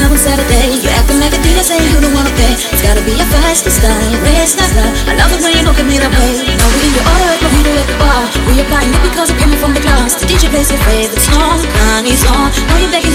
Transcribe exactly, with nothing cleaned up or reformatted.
on Saturday. You're acting like a diva saying you don't wanna pay. It's gotta be a fast style, race not love. I love it when you look at me that way. Now we in your order, no video at the bar. We are buying it because it came from the glass. The D J plays your favorite song, Kanye's on. Now you're begging